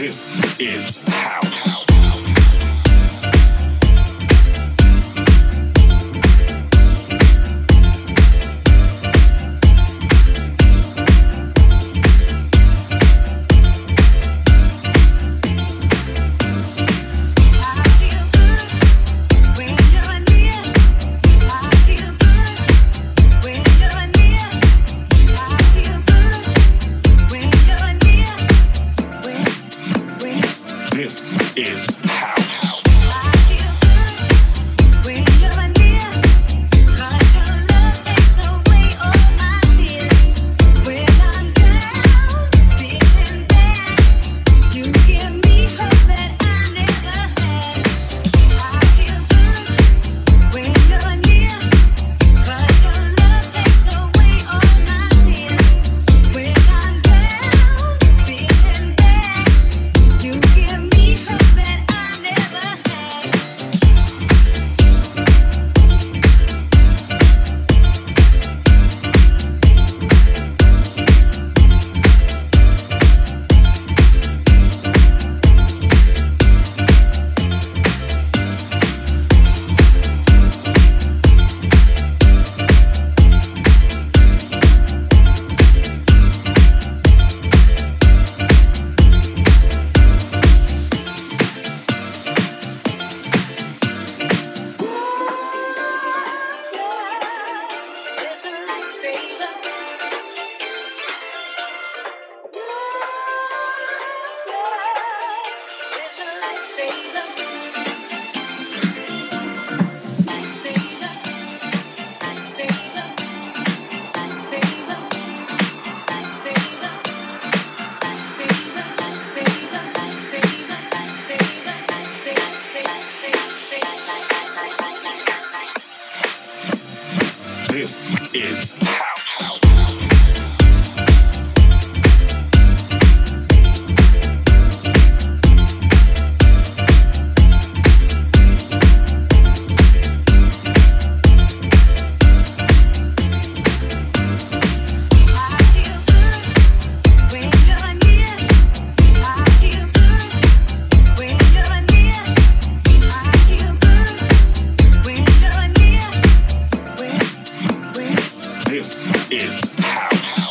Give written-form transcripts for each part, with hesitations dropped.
This is house. This is house. This is house. This is house.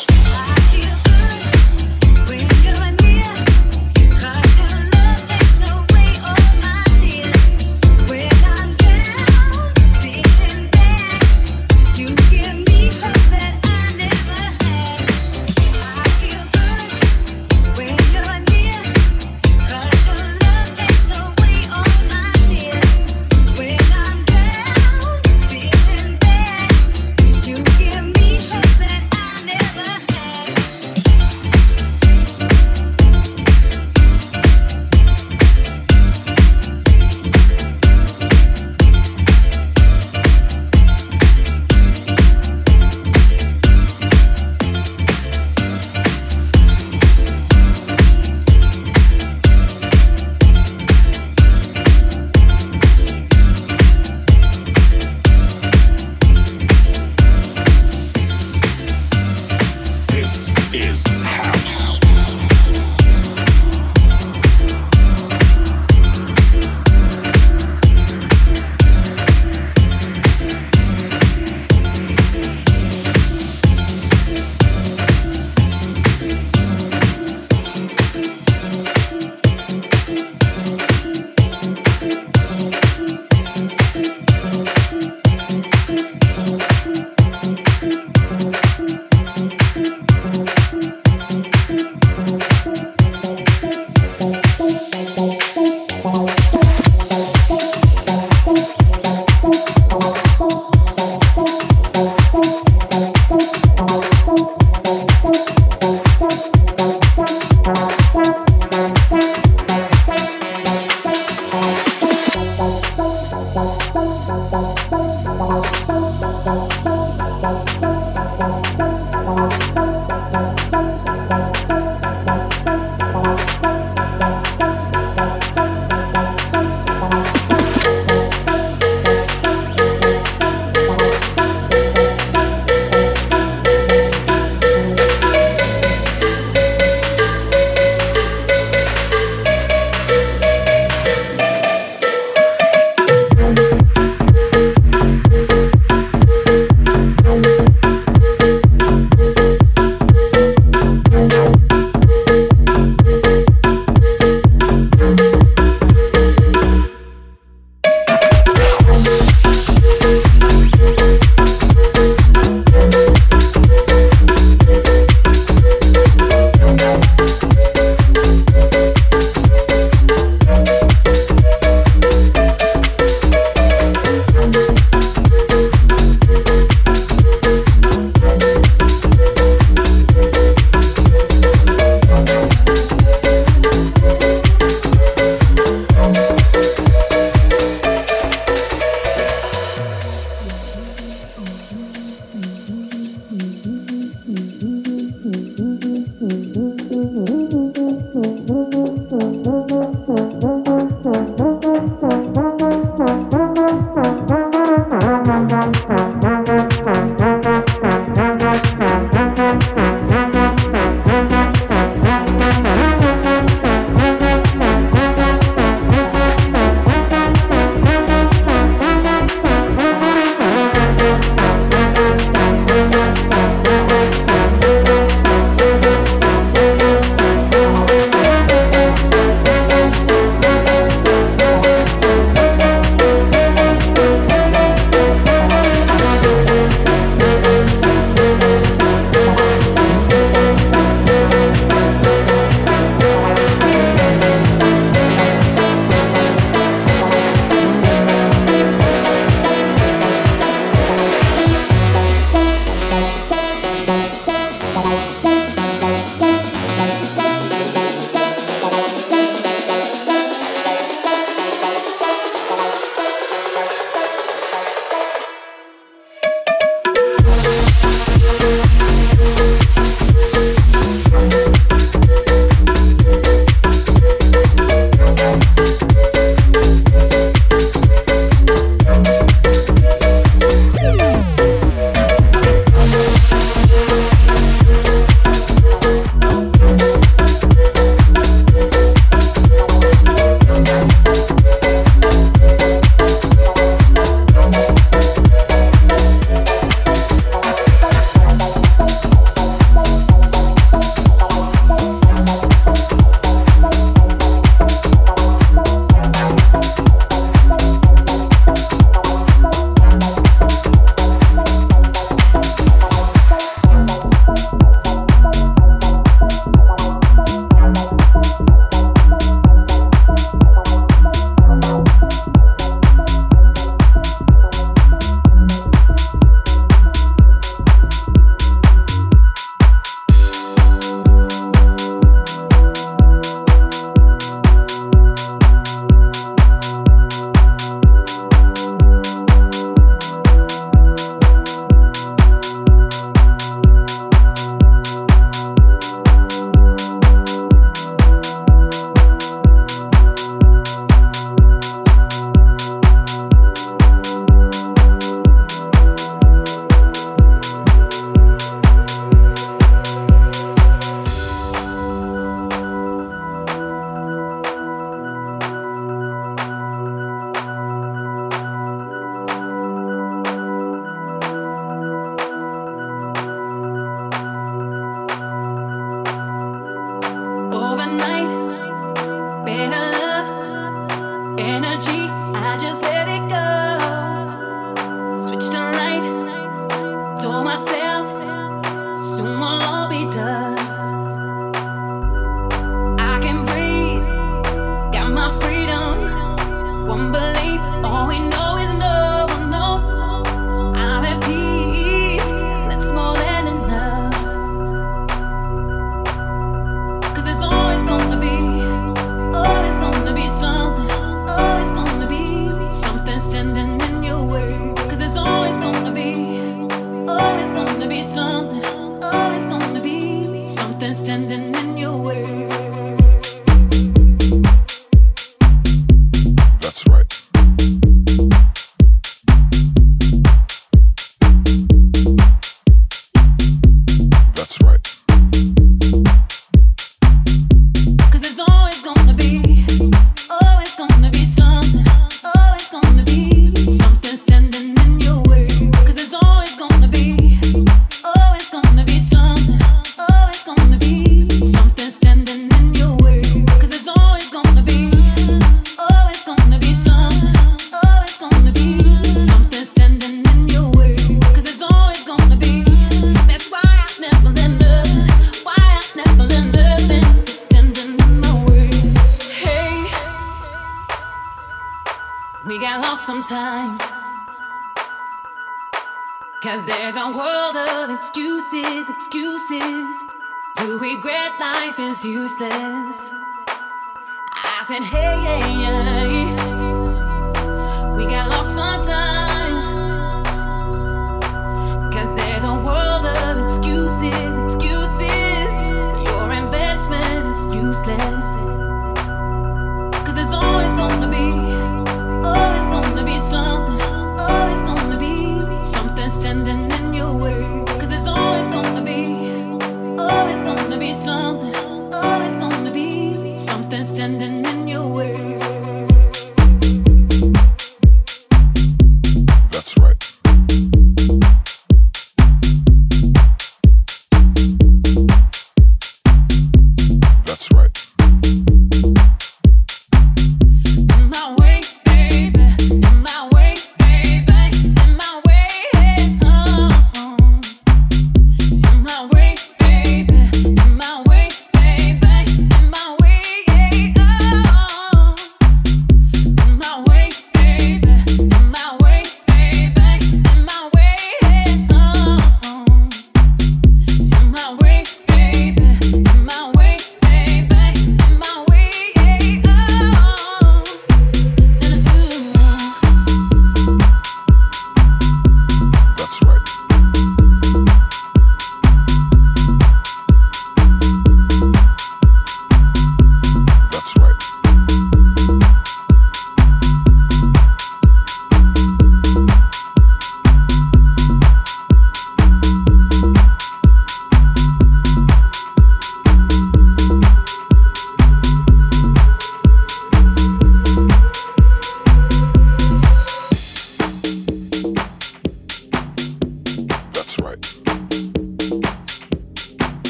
something standing in your way. That's right. That's right. 'Cause there's always gonna be something, always gonna be something standing in your way. 'Cause there's always gonna be something, always gonna be something standing in your way. 'Cause there's always gonna be something, always gonna be something standing in your way. 'Cause there's always gonna be. That's why I never let nothing, standing in my way. Hey, we got lost sometimes. 'Cause there's a world of excuses to regret life is useless. I said, hey, we got lost sometimes. 'Cause there's a world of excuses. Your investment is useless. 'Cause there's always gonna be something, always gonna be something standing in your way. 'Cause there's always gonna be something, always gonna be something standing in your way.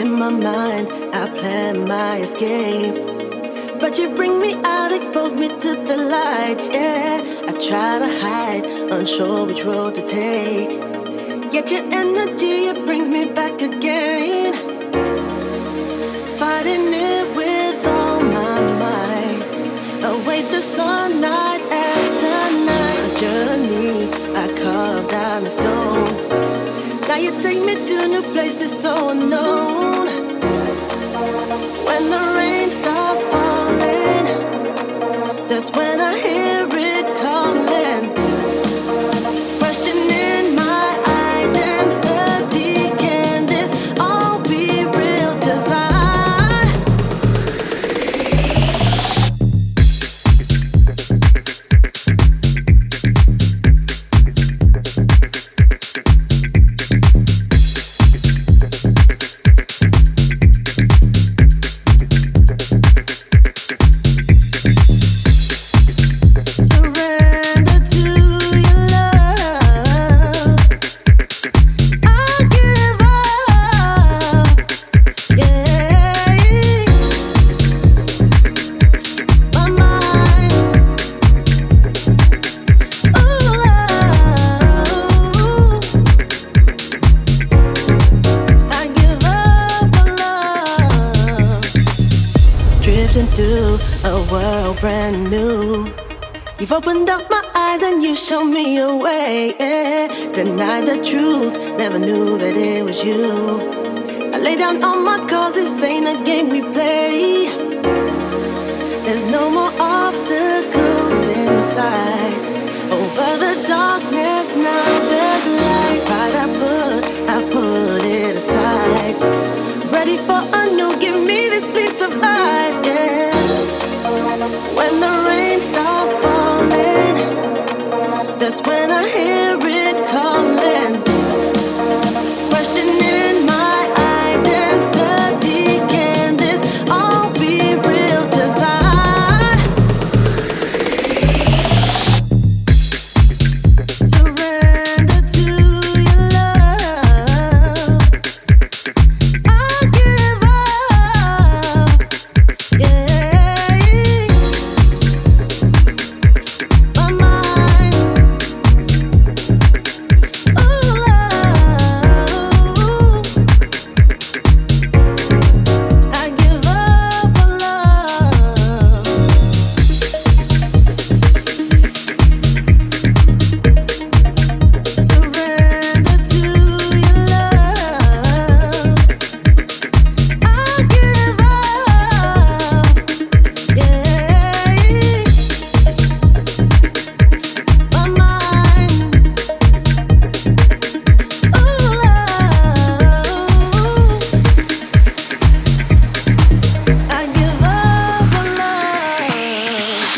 In my mind, I plan my escape. But you bring me out, expose me to the light, yeah. I try to hide, unsure which road to take. Yet your energy, it brings me back again. Fighting it with all my might. Await the sun night after night. A journey I carved out in stone. Now you take me to new places so unknown. When the rain starts falling, that's when I hear it calling. Questioning my identity. Can this all be real? 'Cause you've opened up my eyes and you show me a way, yeah. Deny the truth, never knew that it was you. I lay down all my cards, this ain't a game we play. There's no more obstacles inside. Over the darkness, now there's light. Pride I put it aside. Ready for a new, give me this lease of life, yeah. When the rain starts falling, that's when I hear it calling. Questioning my identity. Can this all be real? 'Cause surrender to your love. I give up, yeah. My mind, I give up on love. Surrender to your love. I give up, yeah. My mind, I give up on love.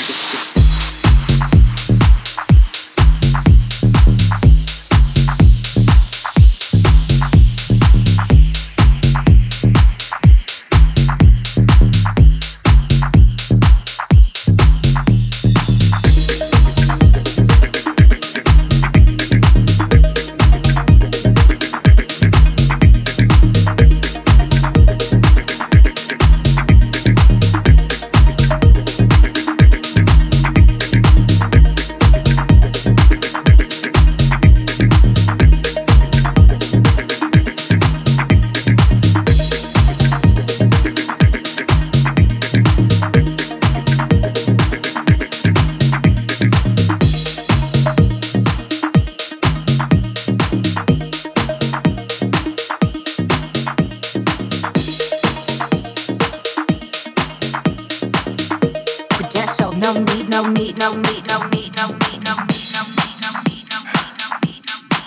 Prudential, no need, no need, no need, no need, no need, no need, no need, no need, no need,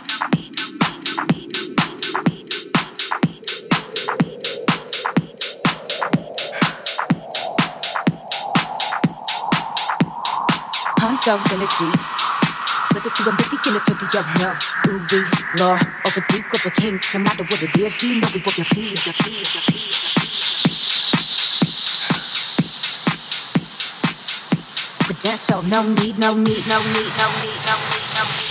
Hunchability. Flip it to a Mickey, kill it to the other. Ooh, we, law, over deep, over king. No matter what it is, you know we book your tea, your tea, your tea, your tea. Prudential, no need, no need, no need, no need, no need, no need.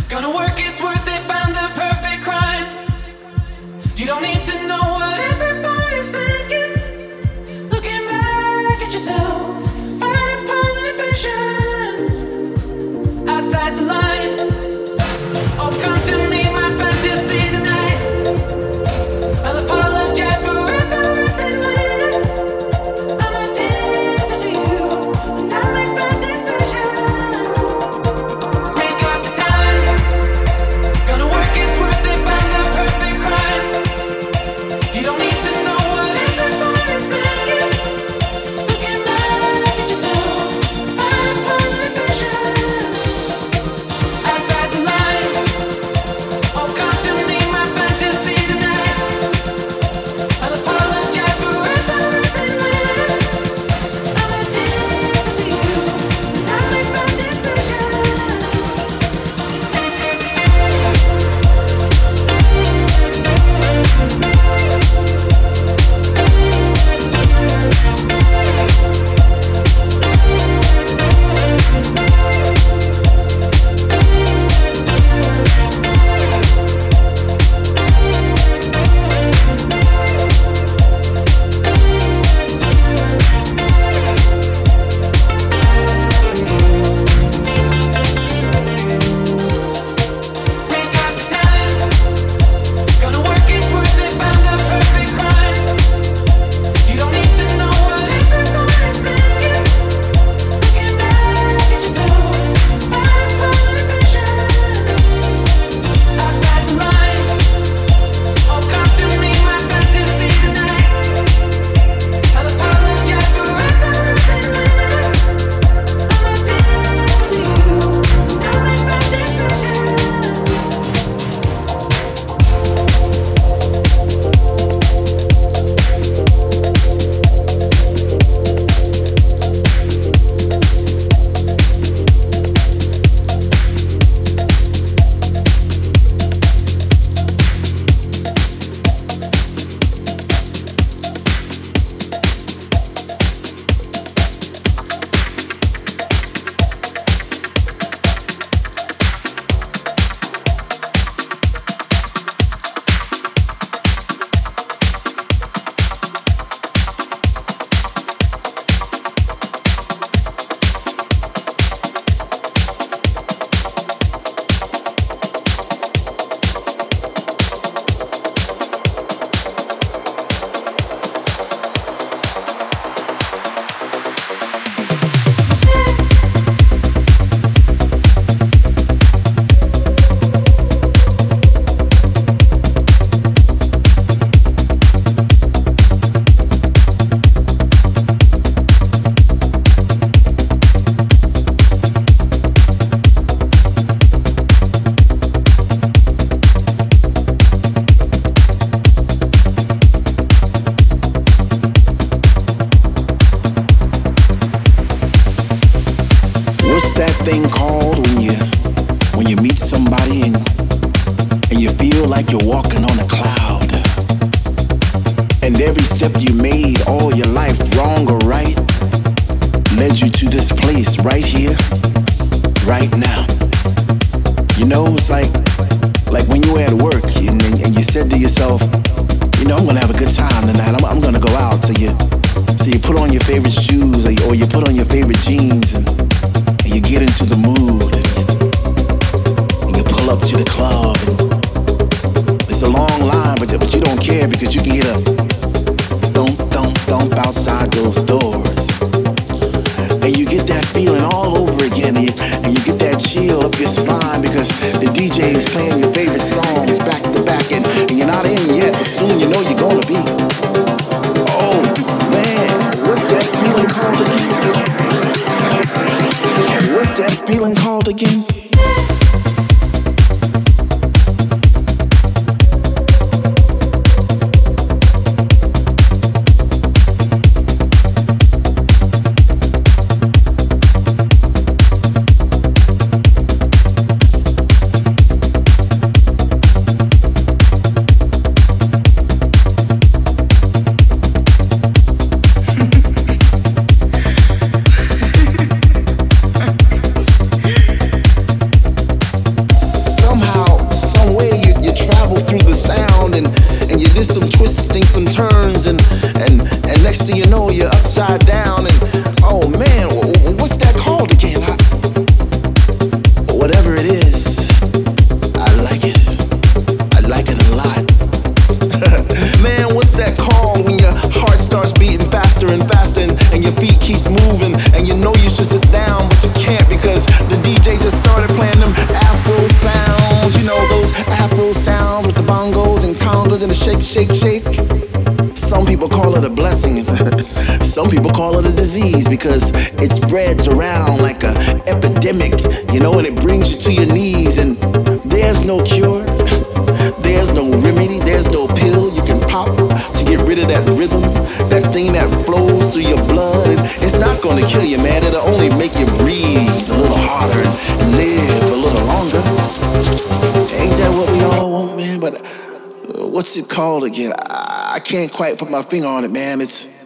Gonna work, it's worth it, found the perfect crime. You don't need to know what everybody's thinking. Looking back at yourself, fighting prohibition. Outside the line, oh come to me, my fantasy tonight. I'll apologize for everything later. I'm addicted to you, and I make bad decisions. Make up the time, gonna work, it's worth it, found the perfect crime. You don't need to know what everybody's thinking. Looking back at yourself, fighting prohibition. Outside the line, oh come to me, my fantasy tonight. I'll apologize for everything later. I'm addicted to you, and I make bad decisions. Make up the time, gonna work, it's worth it, found the perfect crime. You don't need to know what everybody's thinking. Looking back at yourself, fighting prohibition. Outside the line, oh come to me, my fantasy tonight. I'll apologize for everything later. I'm addicted to you, and I make bad decisions. What's that thing called when you meet somebody and you feel like you're walking on a cloud? And every step you made all your life, wrong or right, led you to this place right here, right now. You know, it's like when you were at work and you said to yourself, you know, I'm gonna have a good time tonight. I'm gonna go out. So you put on your favorite shoes or you put on your favorite jeans and you get into the mood and you pull up to the club and it's a long line, but you don't care because you can get a thump outside those doors. And you get that feeling all over again and you get that chill up your spine because the DJ is playing your favorite songs back to back and you're not in yet, but soon you know you're gonna be. Oh man, what's that feeling called again? What's that feeling called again? shake, shake. Some people call it a blessing. Some people call it a disease because it spreads around like an epidemic, you know, and it brings you to your knees. And there's no cure, there's no remedy, there's no pill you can pop to get rid of that rhythm, that thing that flows through your blood. And it's not gonna kill you, man. It'll only make you breathe a little harder and live a little longer. Ain't that what we all want, man? But what's it called again? I can't quite put my finger on it, man. It's